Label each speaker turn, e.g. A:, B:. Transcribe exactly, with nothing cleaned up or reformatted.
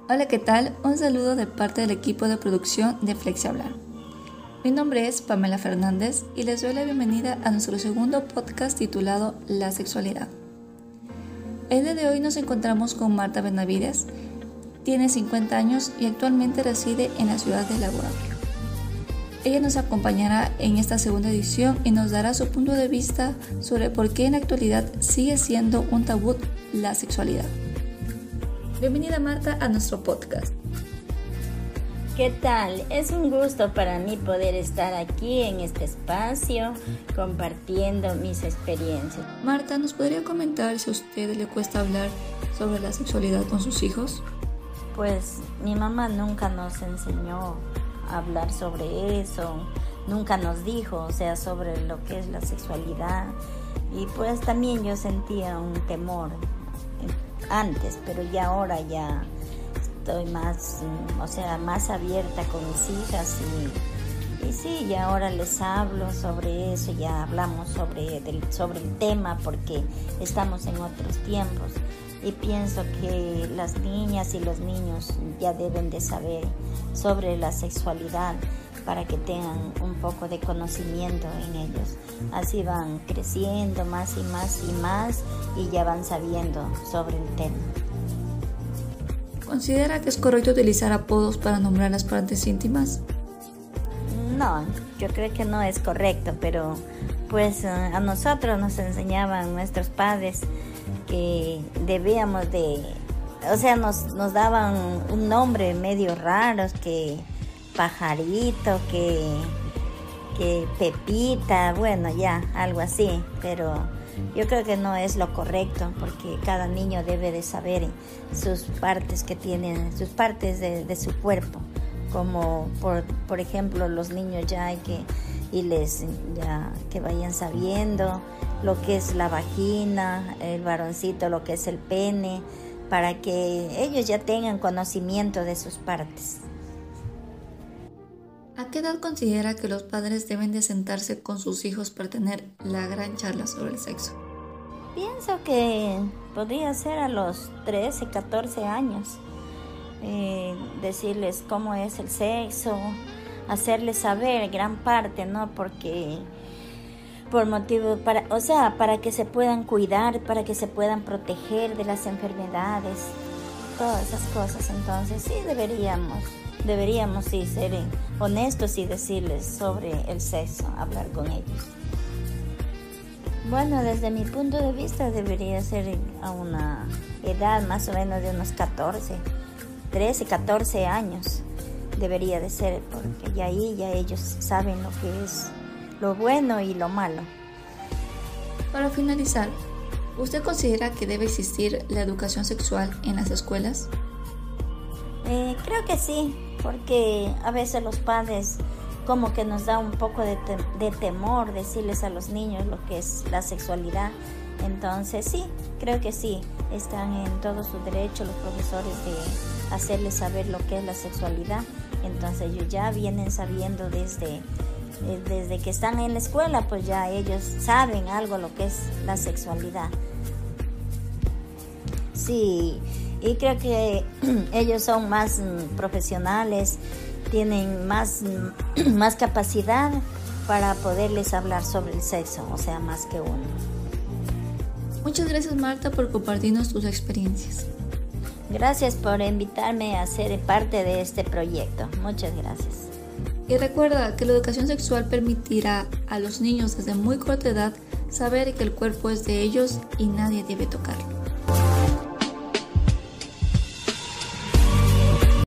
A: Hola, ¿qué tal? Un saludo de parte del equipo de producción de FlexiHablar. Mi nombre es Pamela Fernández y les doy la bienvenida a nuestro segundo podcast titulado La Sexualidad. El día de hoy nos encontramos con Marta Benavides. Tiene cincuenta años y actualmente reside en la ciudad de Lagunilla. Ella nos acompañará en esta segunda edición y nos dará su punto de vista sobre por qué en la actualidad sigue siendo un tabú la sexualidad. Bienvenida, Marta, a nuestro podcast.
B: ¿Qué tal? Es un gusto para mí poder estar aquí en este espacio compartiendo mis experiencias.
A: Marta, ¿nos podría comentar si a usted le cuesta hablar sobre la sexualidad con sus hijos?
B: Pues mi mamá nunca nos enseñó a hablar sobre eso, nunca nos dijo, o sea, sobre lo que es la sexualidad. Y pues también yo sentía un temor antes, pero ya ahora ya estoy más, o sea, más abierta con mis hijas y, y sí, ya ahora les hablo sobre eso, ya hablamos sobre, del, sobre el tema porque estamos en otros tiempos y pienso que las niñas y los niños ya deben de saber sobre la sexualidad para que tengan un poco de conocimiento en ellos. Así van creciendo más y más y más y ya van sabiendo sobre el tema.
A: ¿Considera que es correcto utilizar apodos para nombrar las partes íntimas?
B: No, yo creo que no es correcto, pero pues a nosotros nos enseñaban nuestros padres que debíamos de, o sea, nos, nos daban un nombre medio raro, que pajarito, que, que Pepita, bueno, ya, algo así, pero yo creo que no es lo correcto porque cada niño debe de saber sus partes que tienen, sus partes de, de su cuerpo, como por, por ejemplo los niños ya hay que irles ya que vayan sabiendo lo que es la vagina, el varoncito lo que es el pene, para que ellos ya tengan conocimiento de sus partes.
A: ¿A qué edad considera que los padres deben de sentarse con sus hijos para tener la gran charla sobre el sexo?
B: Pienso que podría ser a los trece, catorce años. Eh, decirles cómo es el sexo, hacerles saber gran parte, ¿no? Porque por motivo, para, o sea, para que se puedan cuidar, para que se puedan proteger de las enfermedades, todas esas cosas. Entonces sí deberíamos. Deberíamos sí ser honestos y decirles sobre el sexo, hablar con ellos. Bueno, desde mi punto de vista debería ser a una edad más o menos de unos catorce, trece, catorce años. Debería de ser, porque ya ahí ya ellos saben lo que es lo bueno y lo malo.
A: Para finalizar, ¿usted considera que debe existir la educación sexual en las escuelas?
B: Eh, creo que sí, porque a veces los padres como que nos da un poco de, te- de temor decirles a los niños lo que es la sexualidad. Entonces sí, creo que sí, están en todo su derecho los profesores de hacerles saber lo que es la sexualidad. Entonces ellos ya vienen sabiendo desde, eh, desde que están en la escuela, pues ya ellos saben algo lo que es la sexualidad. Sí. Y creo que ellos son más mm, profesionales, tienen más, mm, más capacidad para poderles hablar sobre el sexo, o sea, más que uno.
A: Muchas gracias, Marta, por compartirnos tus experiencias.
B: Gracias por invitarme a ser parte de este proyecto. Muchas gracias.
A: Y recuerda que la educación sexual permitirá a los niños desde muy corta edad saber que el cuerpo es de ellos y nadie debe tocarlo.